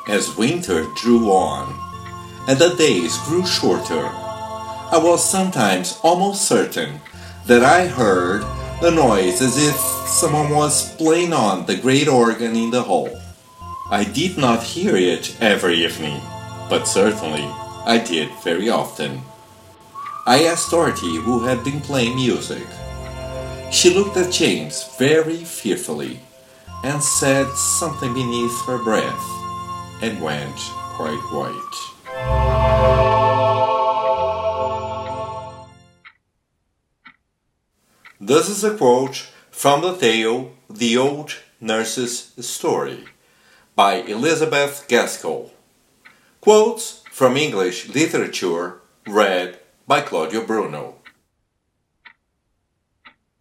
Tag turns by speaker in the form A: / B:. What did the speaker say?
A: As winter drew on, and the days grew shorter, I was sometimes almost certain that I heard a noise as if someone was playing on the great organ in the hall. I did not hear it every evening, but certainly I did very often. I asked Dorothy who had been playing music. She looked at James very fearfully and said something beneath her breath and went quite white. This is a quote from the tale The Old Nurse's Story by Elizabeth Gaskell. Quotes from English literature read by Claudio Bruno.